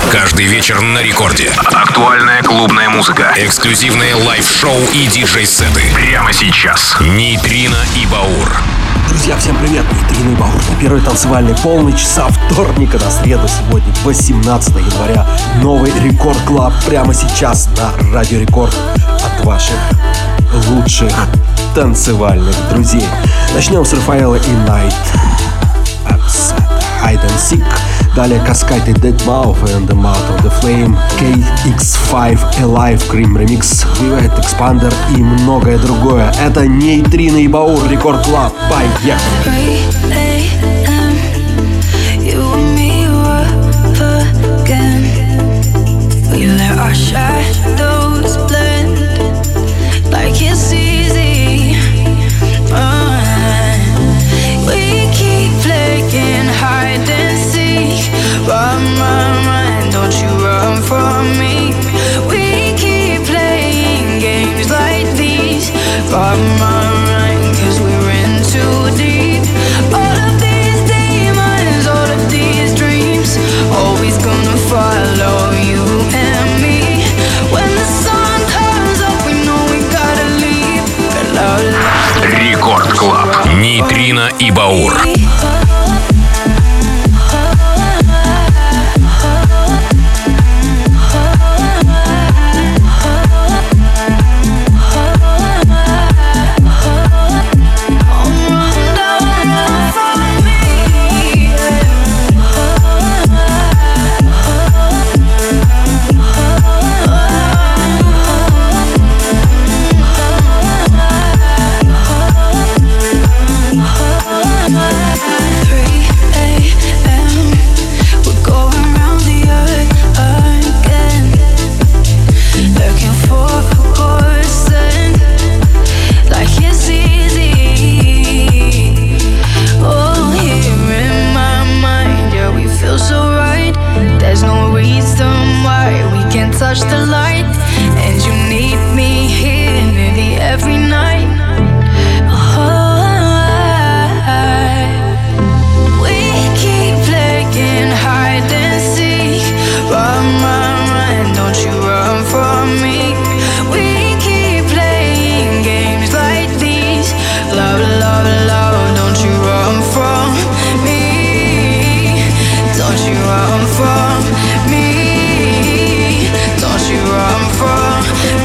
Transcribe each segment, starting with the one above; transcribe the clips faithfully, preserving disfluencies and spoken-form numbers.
Каждый вечер на рекорде. Актуальная клубная музыка. Эксклюзивные лайв-шоу и диджей-сеты. Прямо сейчас. Нейтрино и Баур. Друзья, всем привет! Нейтрино и Баур на первой танцевальной полночь со вторника на среду. Сегодня восемнадцатое января. Новый Рекорд Клаб прямо сейчас на Радио Рекорд от ваших лучших танцевальных друзей. Начнем с Рафаэла и Найт. Hide and Seek. Далее Cascade и Deadmau five and the Mouth of the Flame, кей икс пять Alive Cream Remix, Vivet Expander и многое другое. Это Нейтрино и Баур, Рекорд Клаб. Поехали! Run, run, run, don't you run from me. We keep playing games like these. Run, run, run, cause we're in too deep. All of these demons, all of these dreams, always gonna follow you and me. When the sun comes up, we know we gotta leave. Рекорд Клаб. Нейтрино и Баур. Touch the light, and you need me here nearly every night. Oh, we keep playing hide and seek. Run, run, run, don't you run from me. We keep playing games like these. Love, love, love, don't you run from me. Don't you run from me. Don't you run from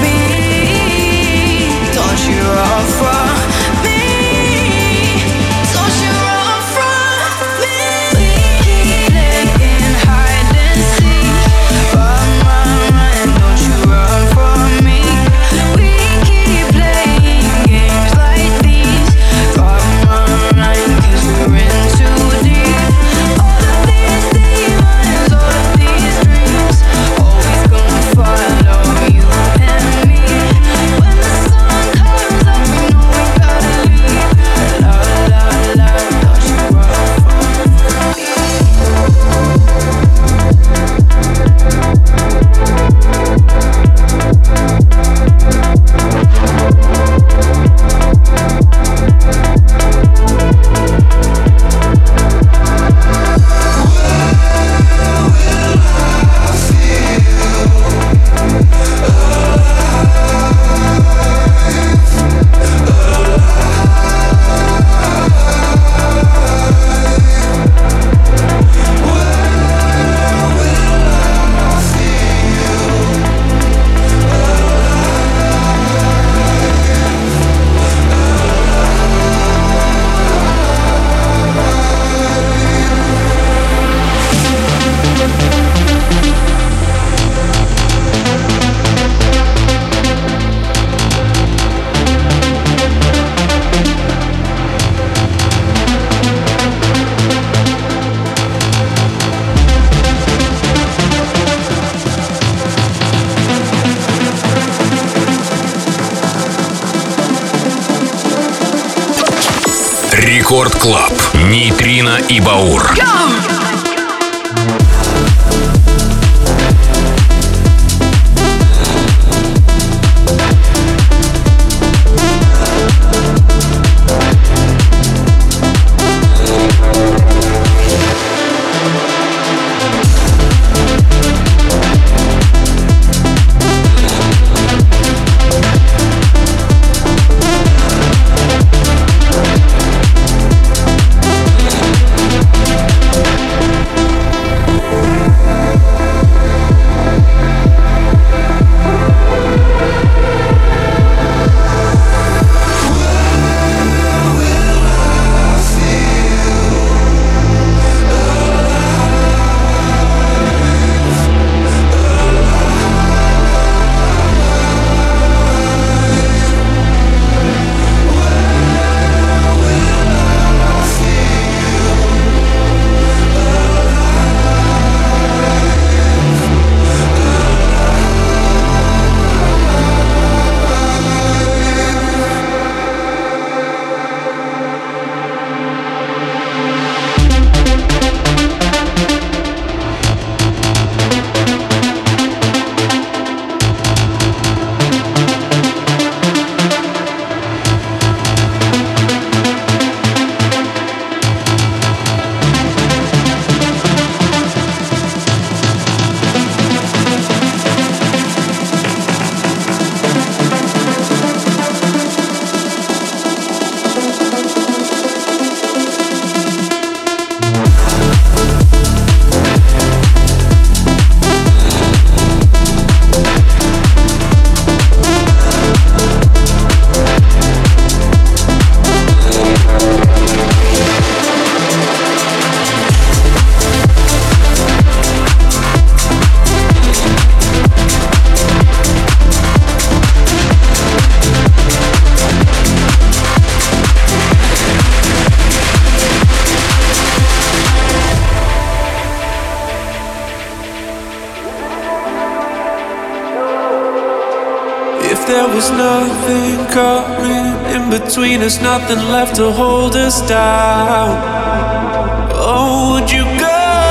me. Don't you run from me. Don't you run from me. We keep playing hide and seek. Run, run, run, don't you run from me. We keep playing games like these. Run, run, run, cause we're in too deep. All of these demons, all of these dreams, always gonna follow you and me. When the sun comes up, we know we gotta leave. Love, love, love, don't you run from me. Рекорд Клаб. Нейтрино и Баур. there was nothing coming in between us, nothing left to hold us down. Oh, would you go?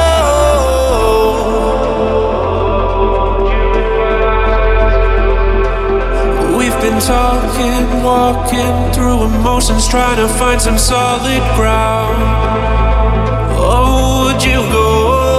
We've been talking, walking through emotions, trying to find some solid ground. Oh, would you go?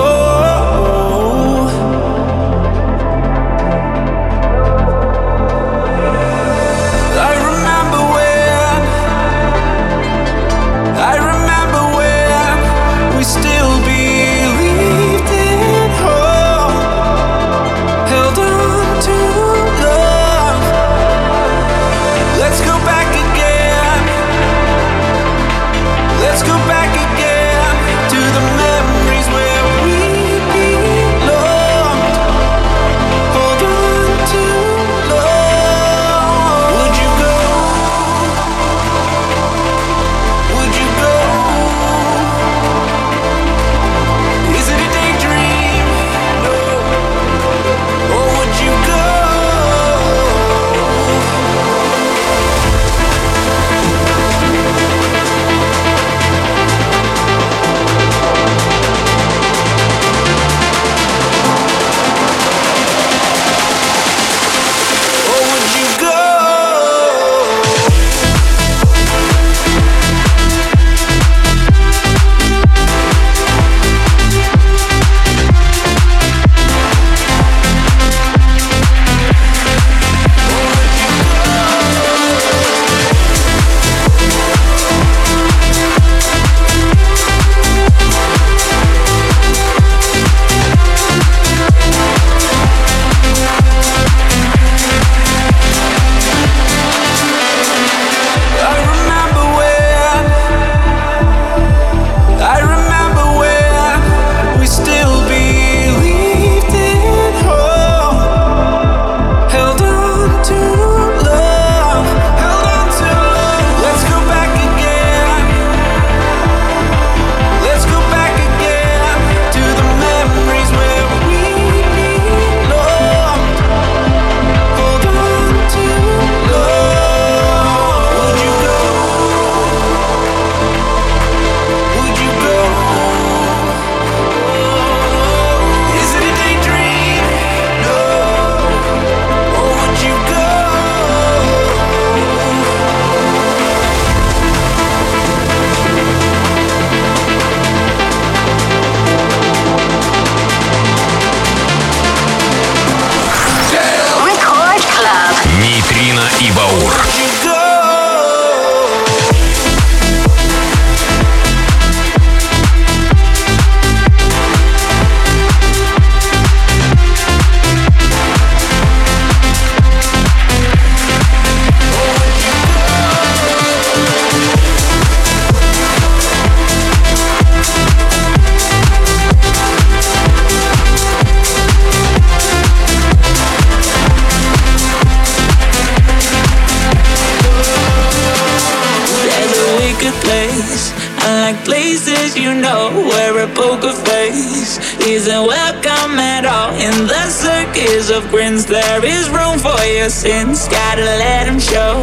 Of grins, there is room for your sins. Gotta let them show.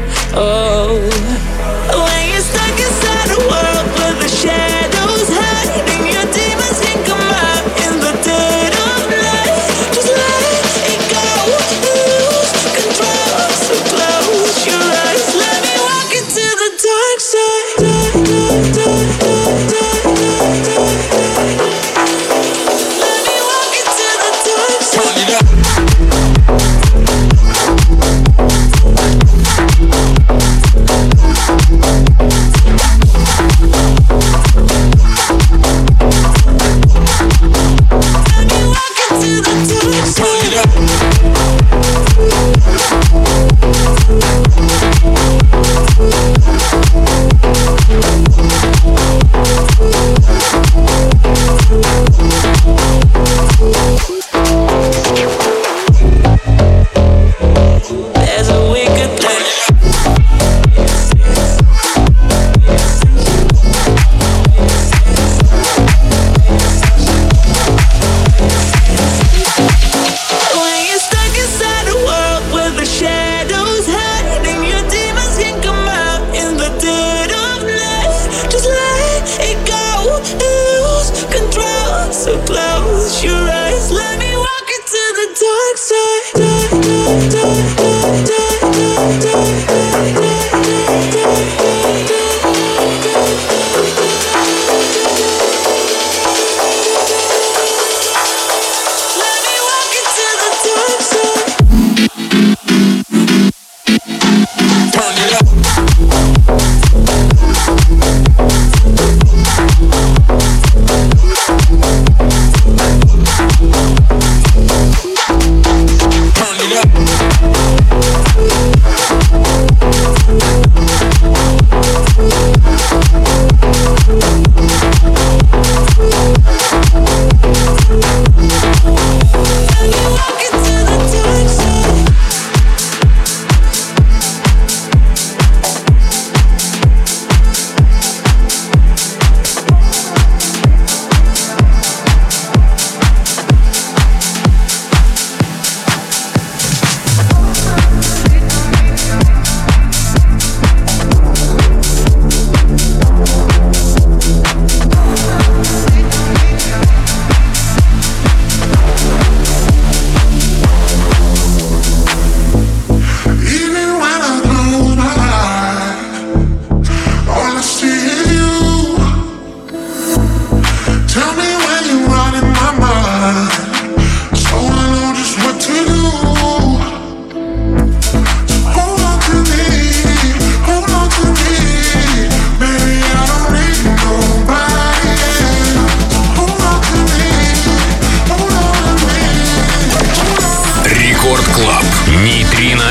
Oh, when you're stuck inside a world where the shadows hiding, your demons can come out in the dead of night. Just let it go, lose control. So close your eyes, let me walk into the dark side. Let me walk into the dark side.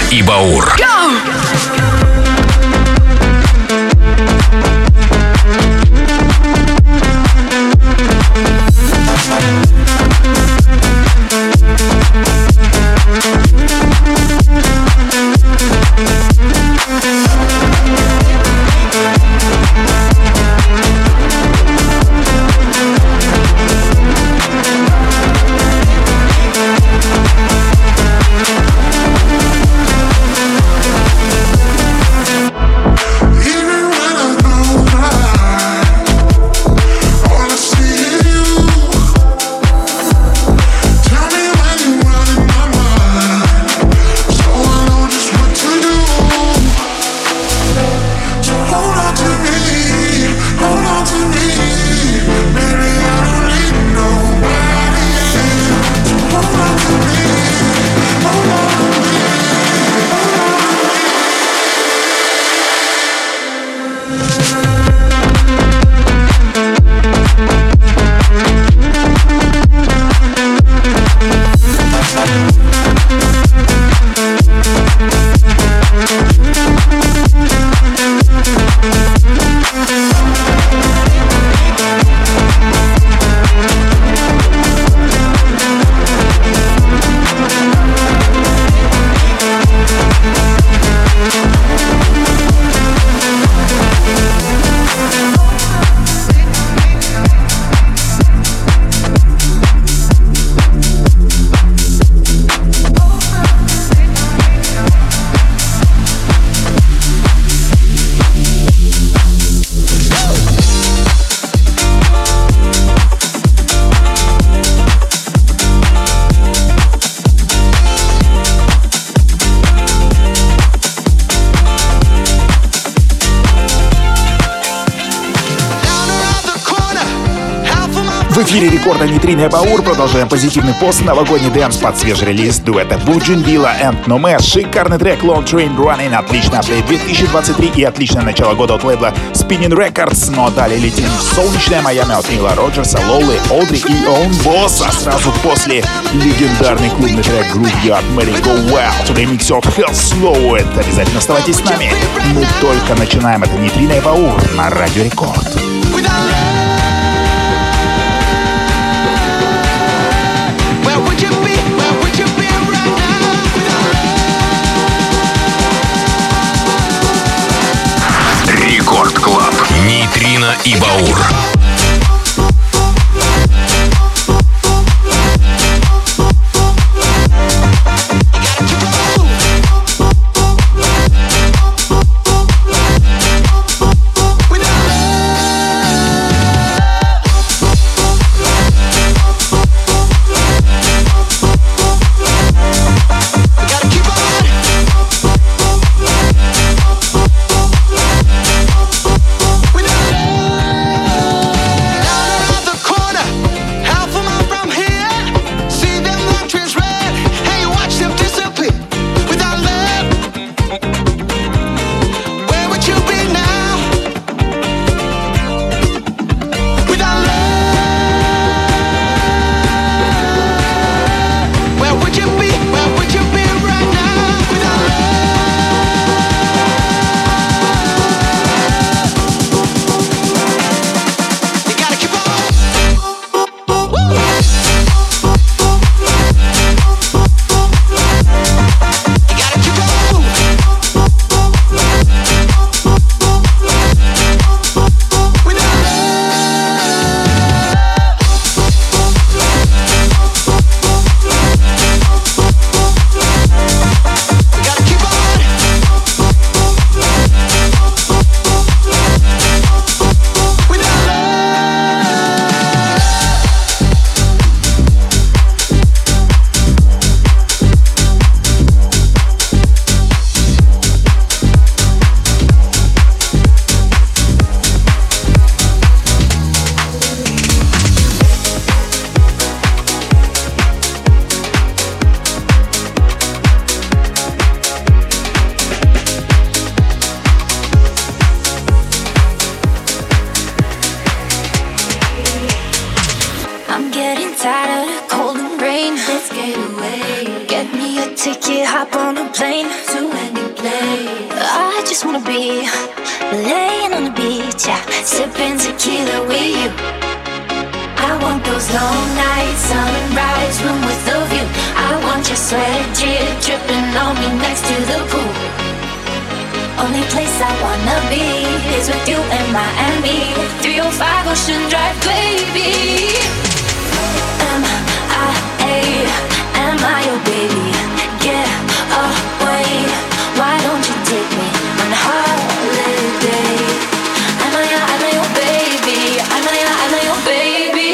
и Баур. В эфире рекорда Нейтрино и Баур. Продолжаем позитивный пост. Новогодний дэнс под свежий релиз дуэта Буджинвилла and Nomad. Шикарный трек Long Train Running. Отличный апдейт две тысячи двадцать три и отличное начало года от лейбла Spinning Records. Но далее летим в солнечное Майами от Нила Роджерса, Лолы, Одри и Он Босс. А сразу после легендарный клубный трек Groove Yard Merry Go Well. To the mix of Hell Slow. Это обязательно оставайтесь с нами. Мы только начинаем. Это Нейтрино и Баур на Радио Рекорд. Рекорд Клаб. Нейтрино и Баур. I'm getting tired of the cold and rain. Let's get away. Get me a ticket, hop on a plane to any place. I just wanna be laying on the beach, yeah, sipping tequila with you. I want those long nights, sunrise, room with the view. I want your sweat drip dripping on me next to the pool. Only place I wanna be is with you in Miami. three oh five Ocean Drive, baby. M I A, am I your baby? Get away, why don't you take me on holiday? Am I, am I your baby? Am I, am I your baby?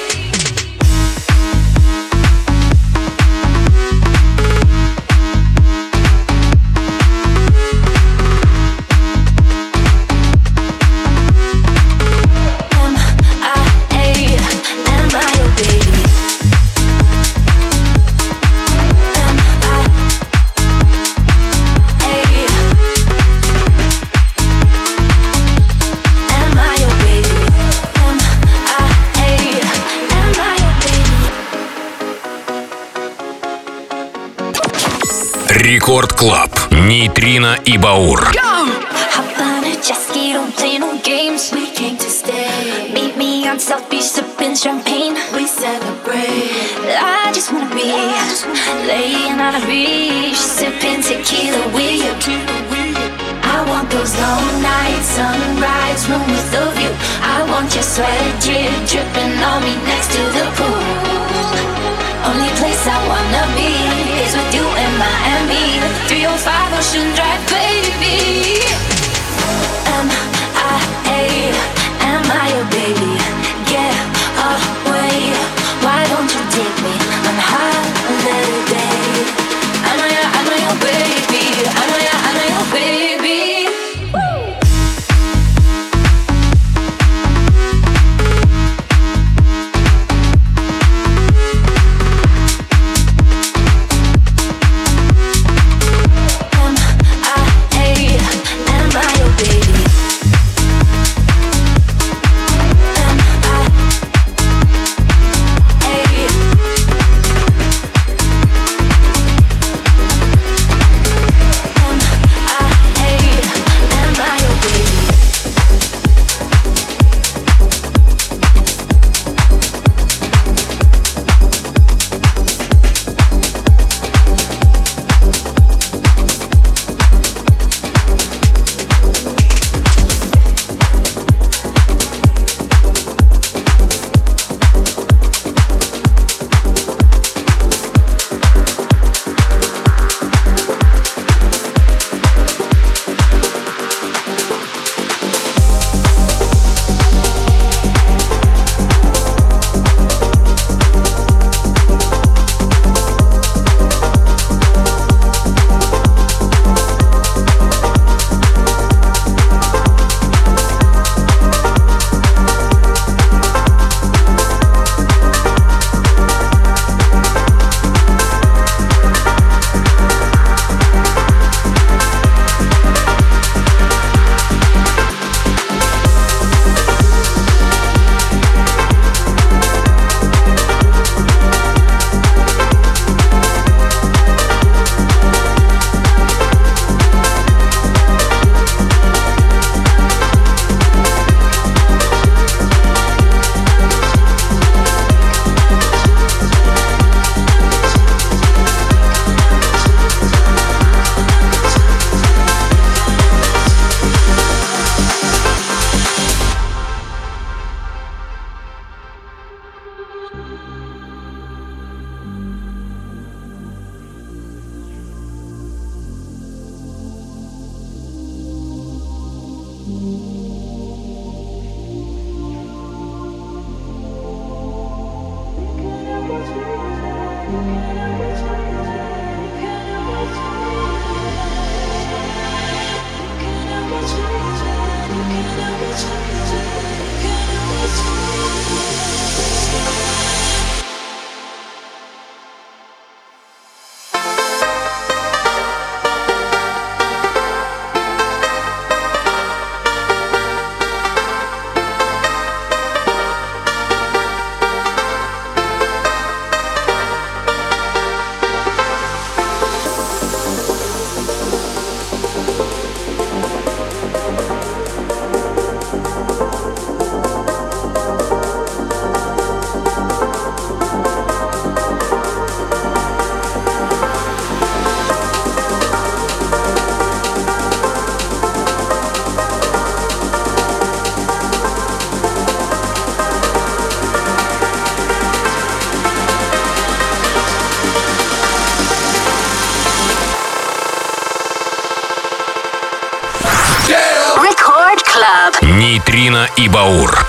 Рекорд Клаб. Нейтрино и Баур. Hop on a jet ski, don't play no games. We came to stay. Meet me on South Beach, sipping champagne. We celebrate. I just wanna be laying on a beach, sipping tequila with you. I want those long nights, sunrise, room with the view. I want your sweat drip dripping on me next to the pool. Only place I wanna be is with you in Miami. three oh five Ocean Drive, baby. M I A, am I your baby? Get away, why don't you take me on holiday? Am I, am I your baby? Am I, am I your baby? Нейтрино и Баур.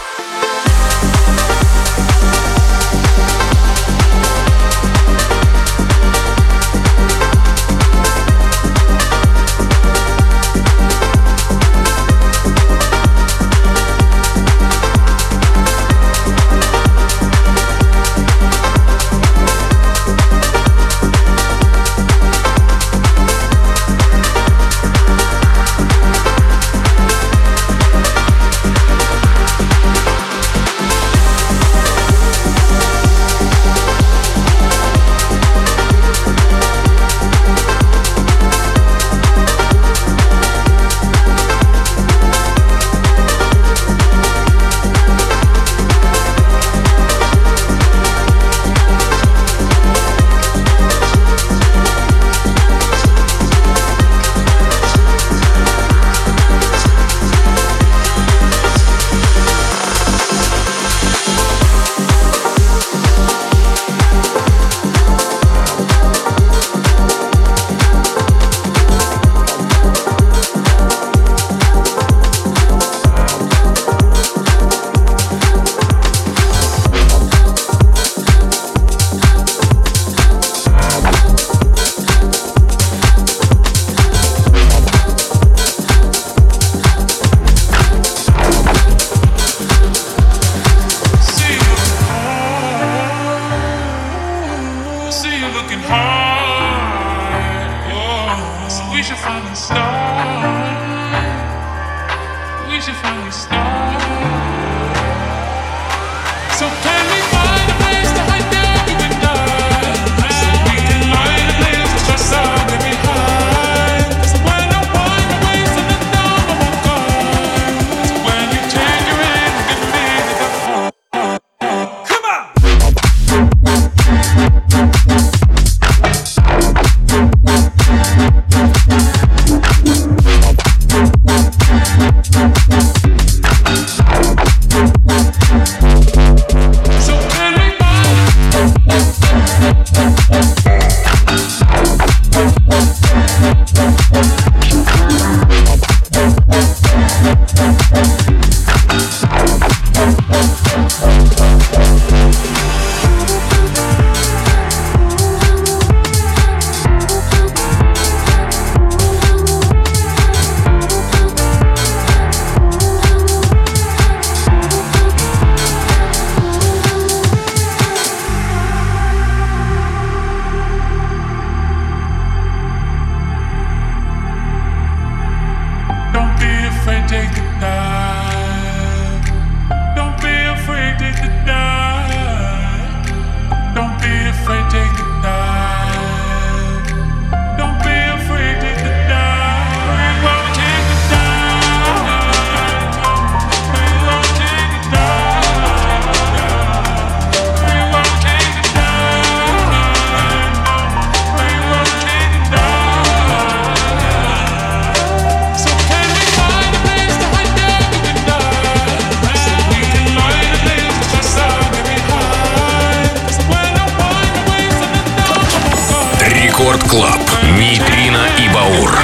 Рекорд Клаб. Нейтрино и Баур.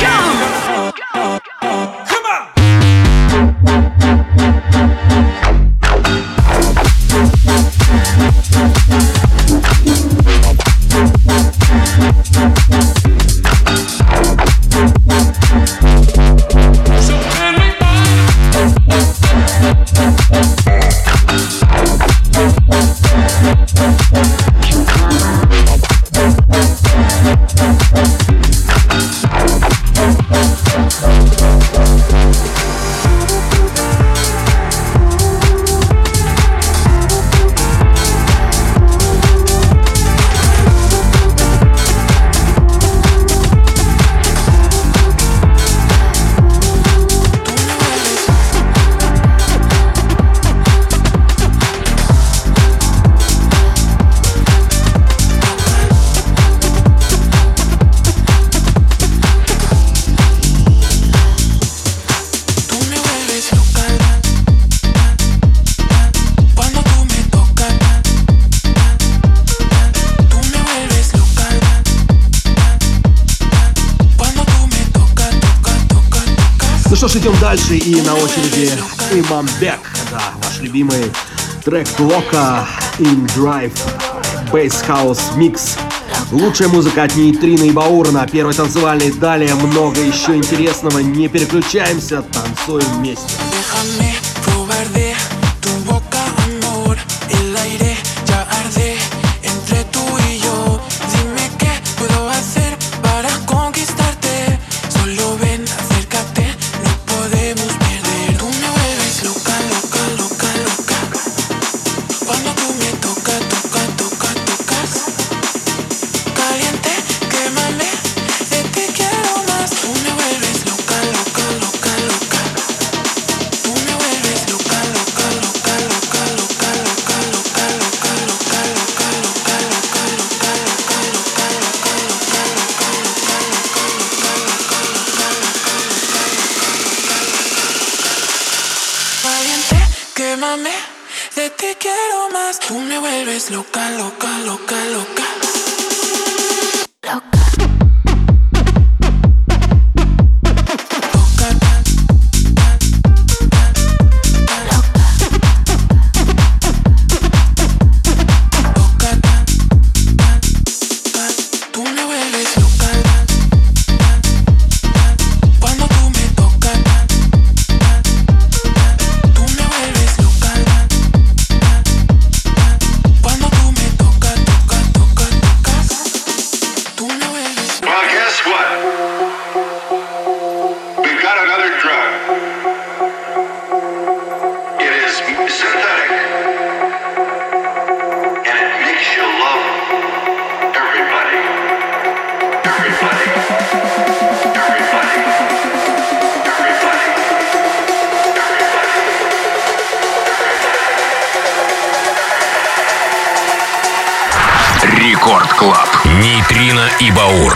We'll be right back. что ж, идем дальше. И на очереди Иманбек. Да, ваш любимый трек Лока in Drive Bass House Mix. Lучшая музыка от Нейтрина и Баура на первой танцевальной. Далее много еще интересного. Не переключаемся, танцуем вместе. Loca, loca, loca, loca. Рекорд Клаб. Нейтрино и Баур.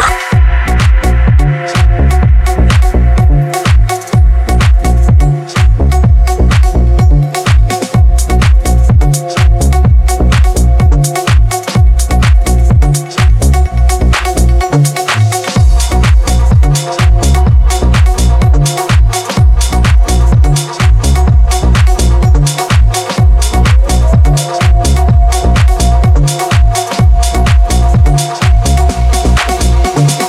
We'll be right back.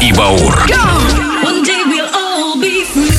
и Баур. One day we'll all be free.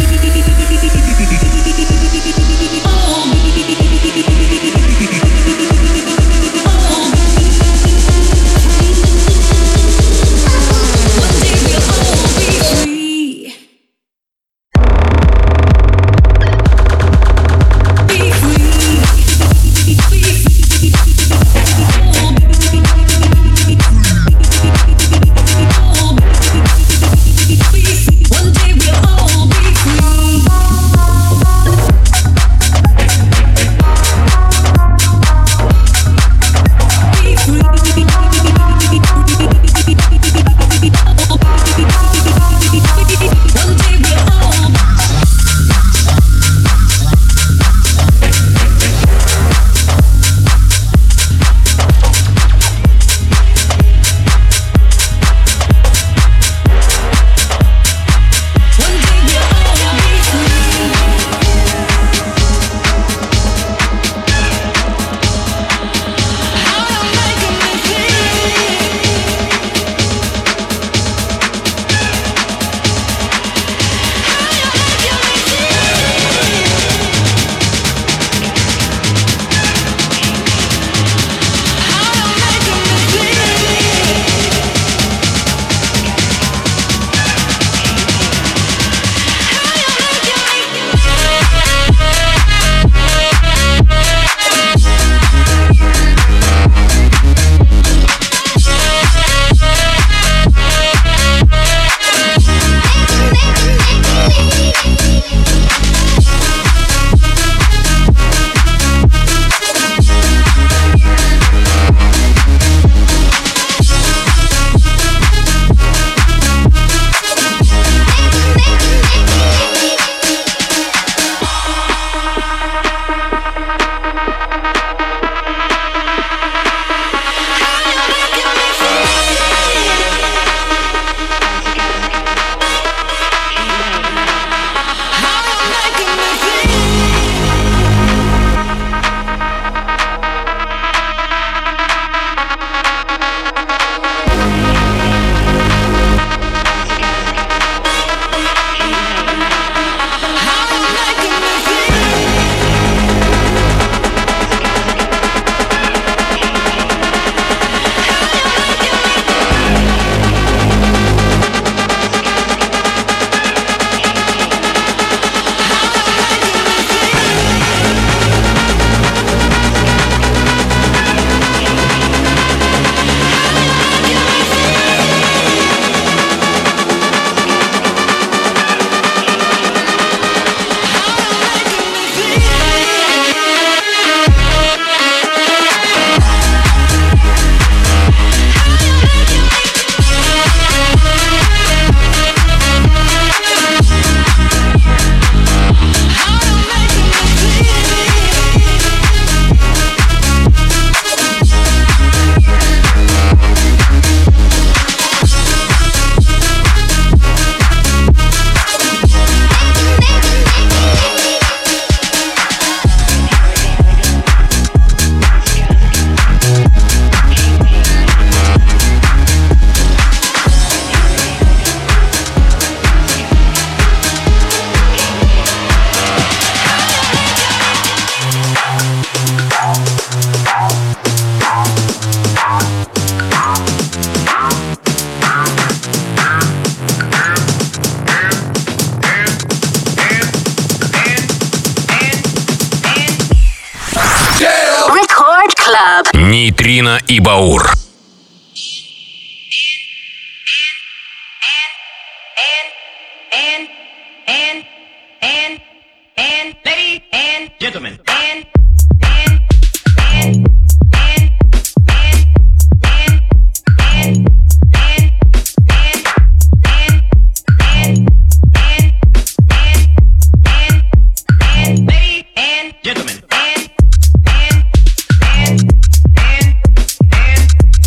Нейтрино и Баур. Gentlemen. Gentlemen.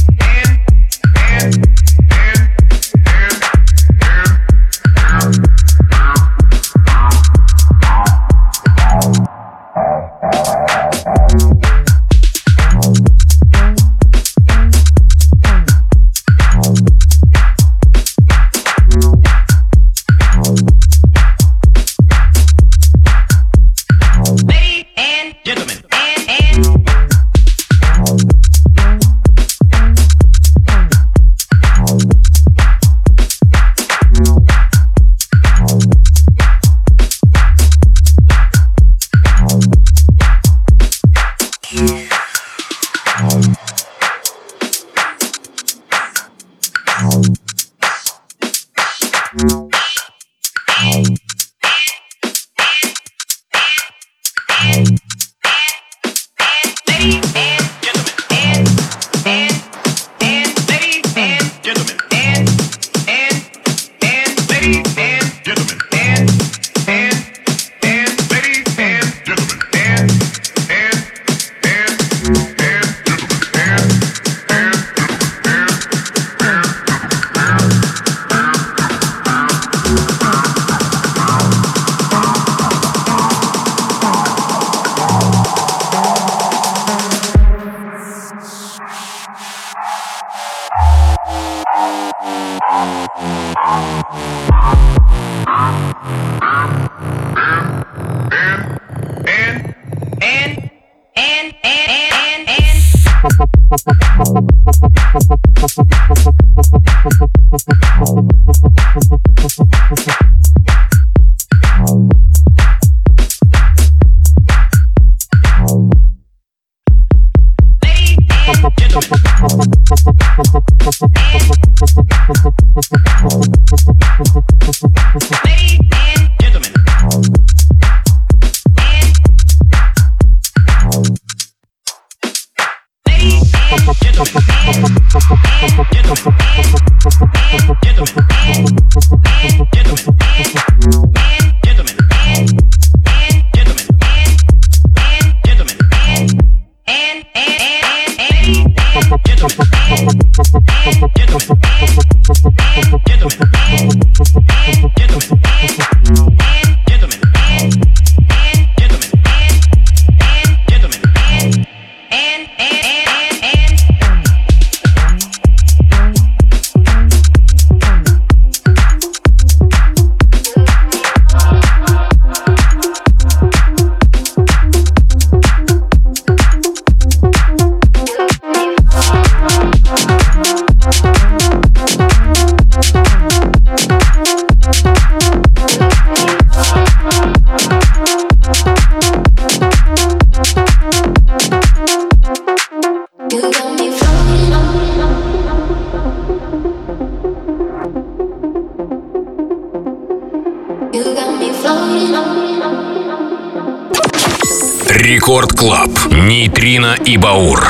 Рекорд Клаб. Нейтрино и Баур.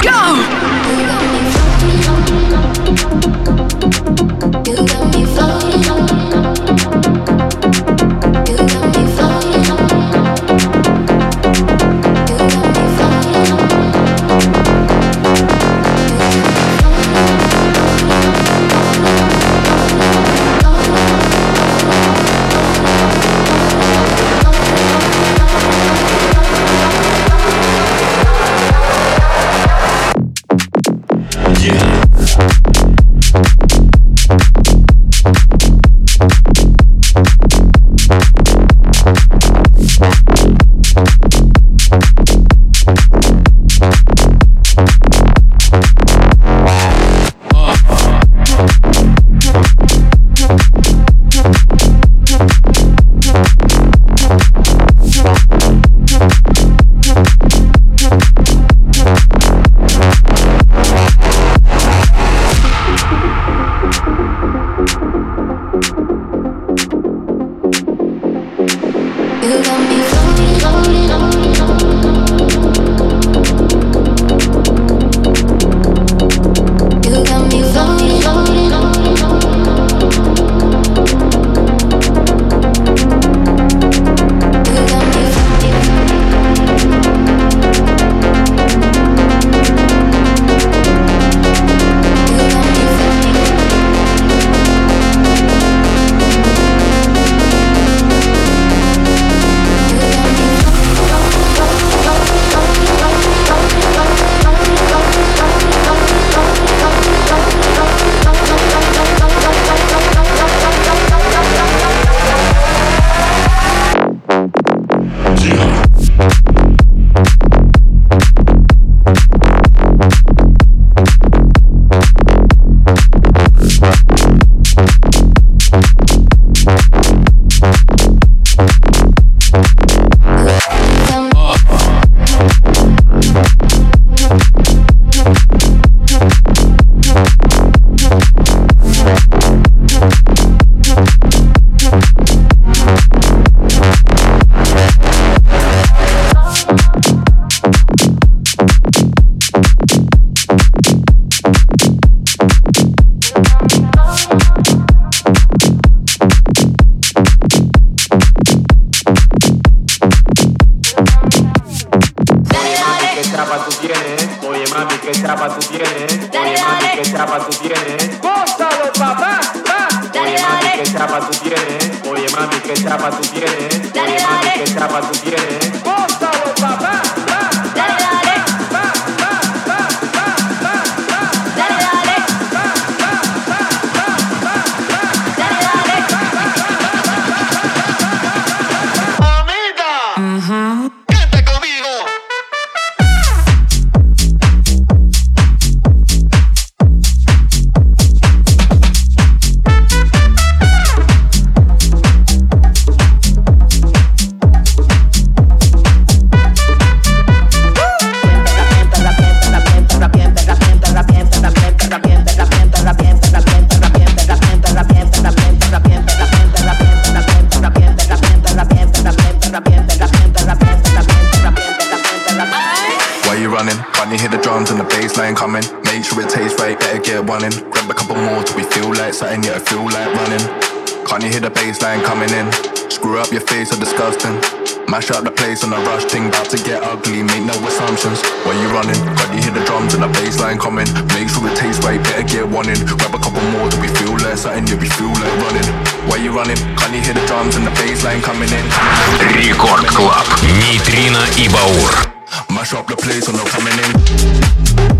right, better get one in. Grab a couple more till we feel like something, yeah, I feel like running. Can't you hear the bass line coming in? Screw up your face, so disgusting. Mash up the place on a rush thing, about to get ugly, make no assumptions. While you running, can't you hear the drums and the bass line coming? Make sure it tastes right, better get one in. Grab a couple more till we feel like something, yeah, we feel like running. While you running, can't you hear the drums and the bass line coming in? Рекорд Клаб. Нейтрино и Баур. Mash up the place on the coming in.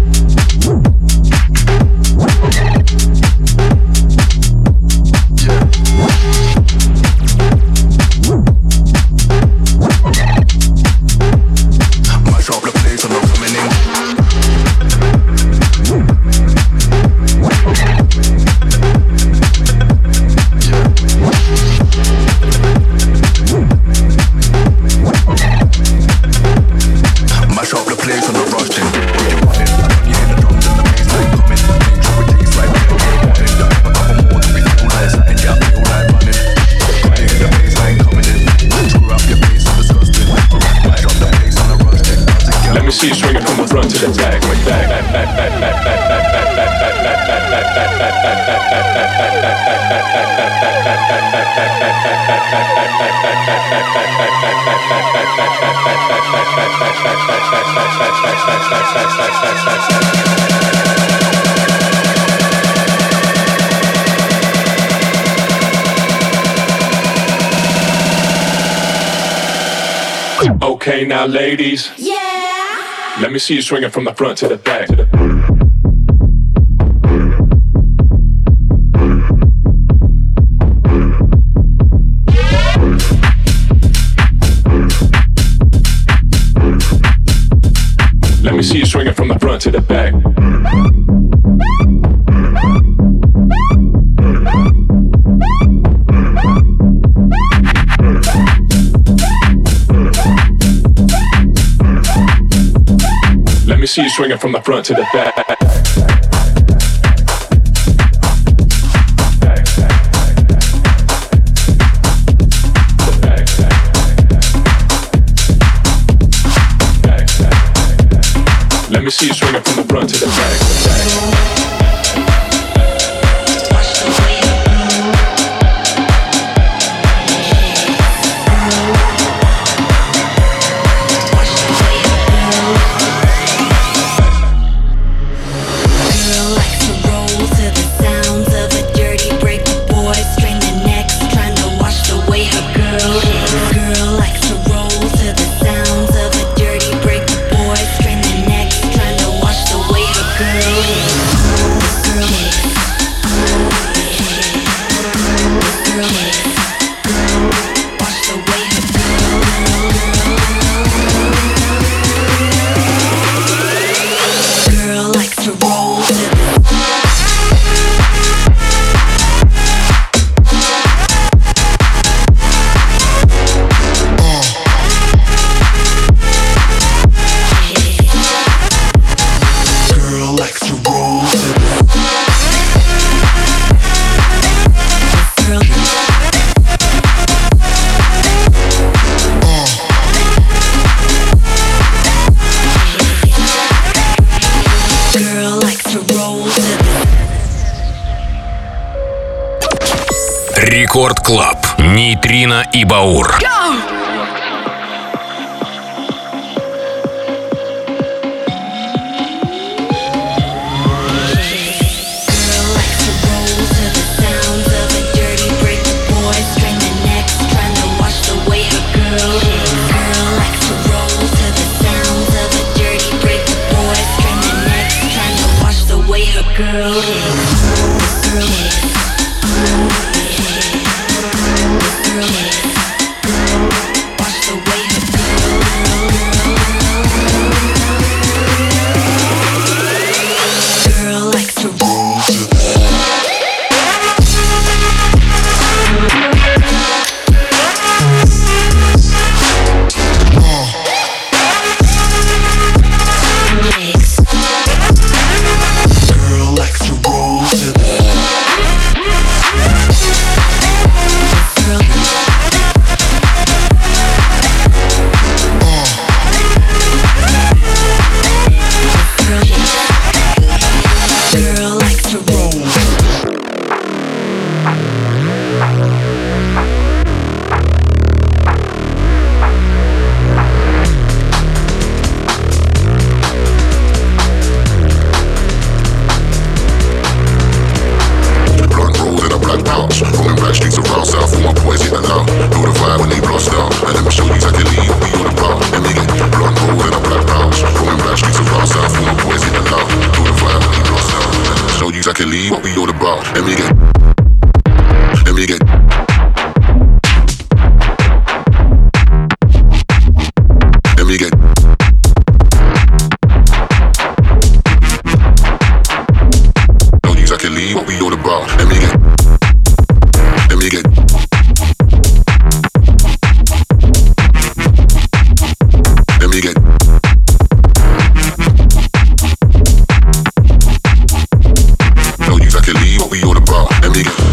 See you swinging from the front to the back, like that. Okay, now ladies. Yeah. Let me see you swinging from the front to the back. To the Let me see you swinging from the front to the back. Let me see you swinging from the front to the back. Let me see you swinging from the front to the back. Рекорд Клаб. Нейтрино и Баур. Girl likes to roll to the to roll. Rolling back streets around south for my boys hitting out. Know the vibe when they blast out. And let me show you exactly we all about. And we get blunt roll and a black pounds. Rolling back streets around south for my boys hitting out. Know the vibe when they blast out. And let me show you exactly what we all about. And we get, and we get. And we get. Show you exactly what we all about. And we get. You get let me get know exactly what we all about. Let me get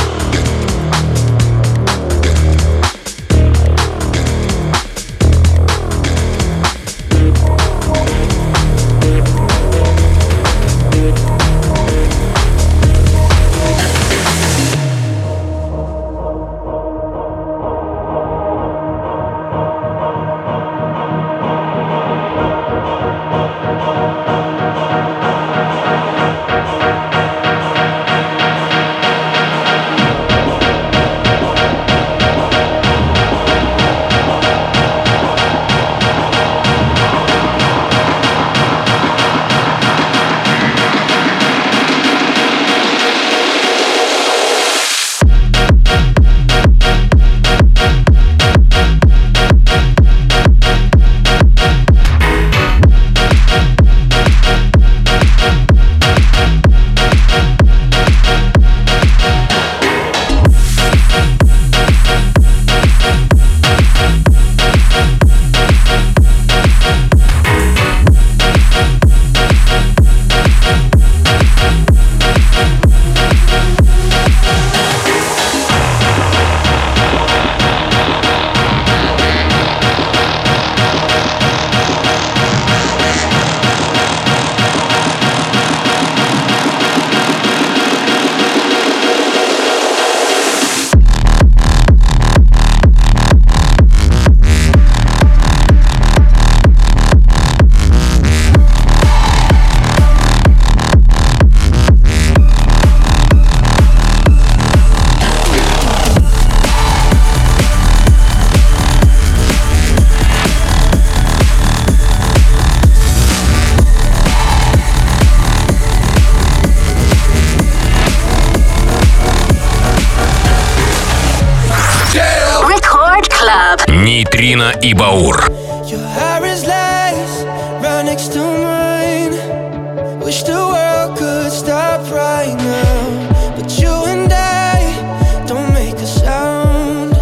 Нейтрино и Баур. Your hair is lace, right next to mine. Wish the world could stop right now, but you and I don't make a sound.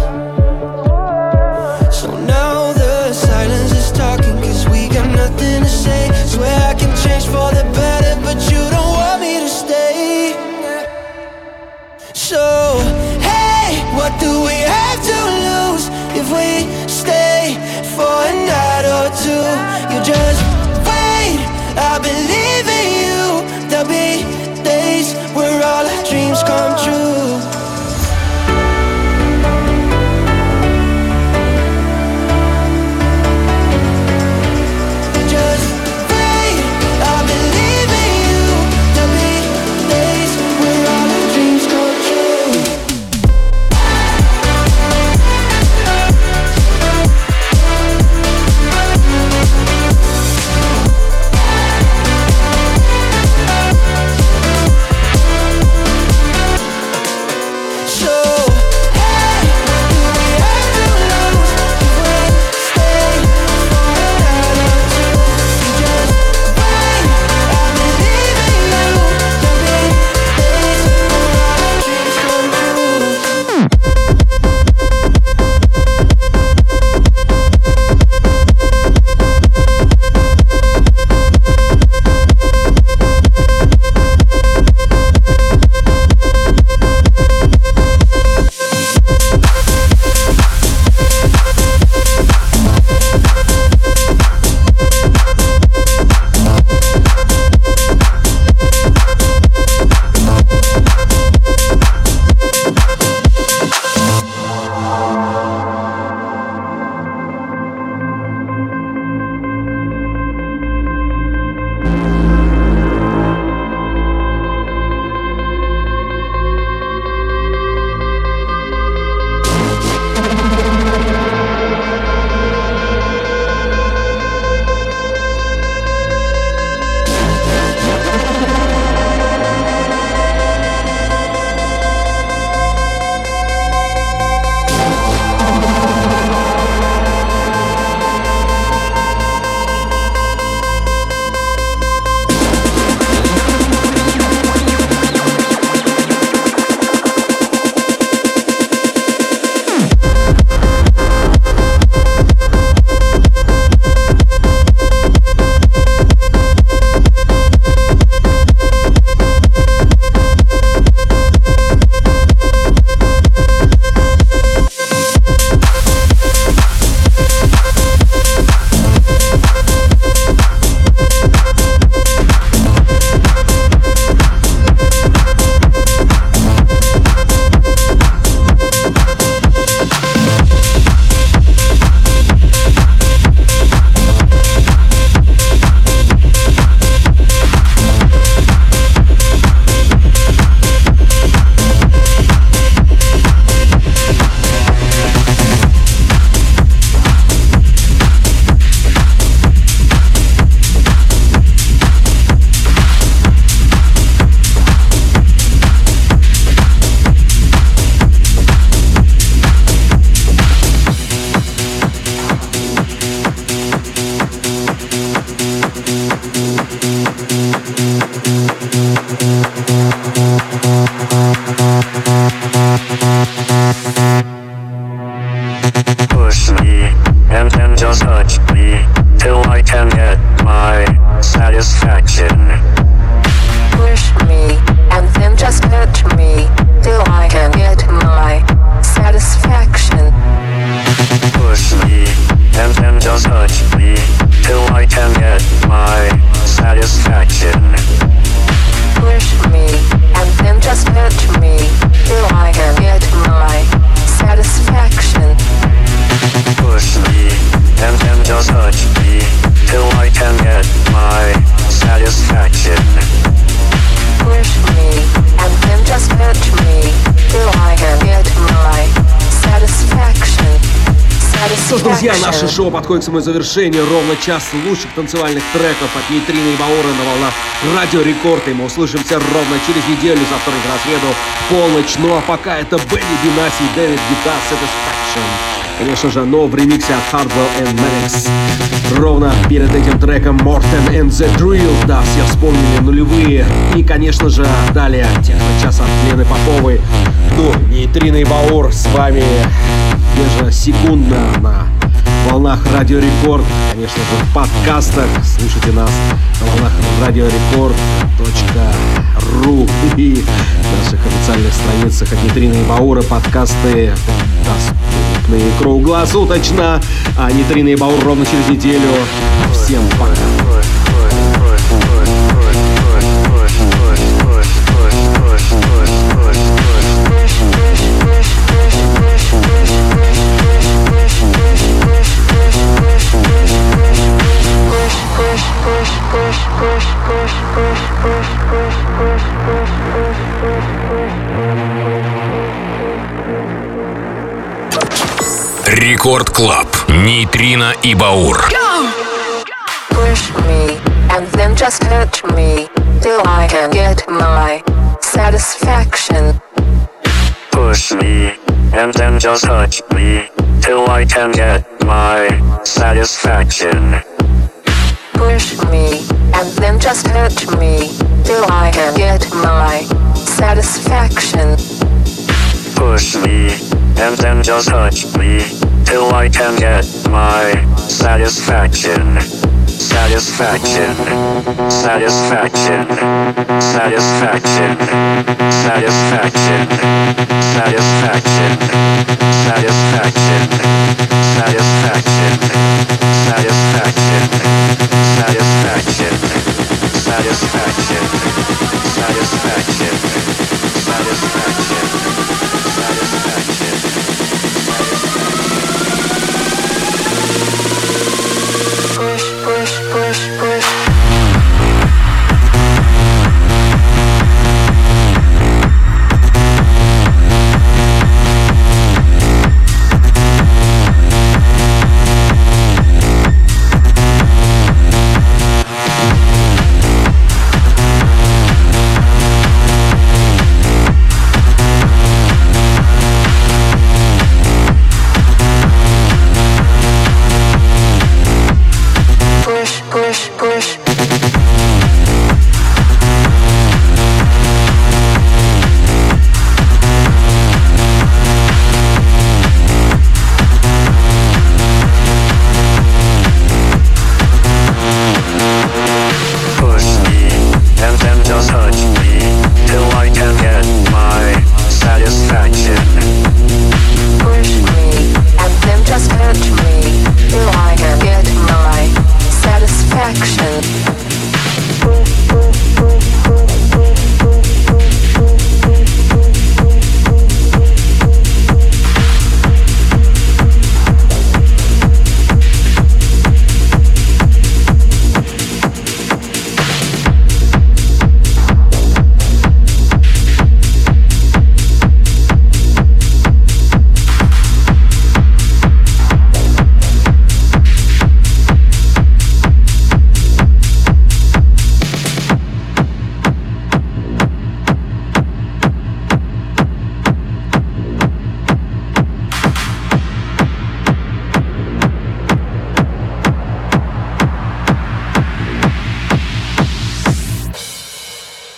So now the silence is talking, cause we got nothing to say. Swear I can change for the better, but you don't want me to stay. So, hey, what do we have to lose if we stay for a night or two? You just wait, I believe in you. There'll be days where all our dreams come true. Just wait, I believe in you. There'll be days where all our dreams come true. Что ж, друзья, наше шоу подходит к своему завершению. Ровно час лучших танцевальных треков от Нейтрина и Баура на волнах Радио Рекорд. И мы услышимся ровно через неделю за вторник на среду в полночь. Ну а пока это Бенни Бенаси и Дэвид Гита Satisfaction. Конечно же, но в ремиксе от Hardwell and Maddox. Ровно перед этим треком Morten and the Drill. Да, все вспомнили нулевые. И, конечно же, далее техно-час от Лены Поповой. Ну, Нейтрина и Баур с вами ежесекундно на волнах Радио Рекорд. Конечно же, в подкастах. Слушайте нас на волнах радиорекорд точка ру и наших официальных страницах от Нейтрина и Баура. Подкасты доступны круглосуточно. А Нейтрина и Баур ровно через неделю. Всем пока. Рекорд Клаб. Нейтрина и Баур. Push me and then just touch me till I can get my satisfaction. Push me and then just touch me till I can get my satisfaction. Push me and then just touch me till I can get my satisfaction. Push me and then just touch me till I can get my satisfaction. Satisfaction, satisfaction, satisfaction, satisfaction, satisfaction, satisfaction, satisfaction, satisfaction, satisfaction, satisfaction, satisfaction, satisfaction.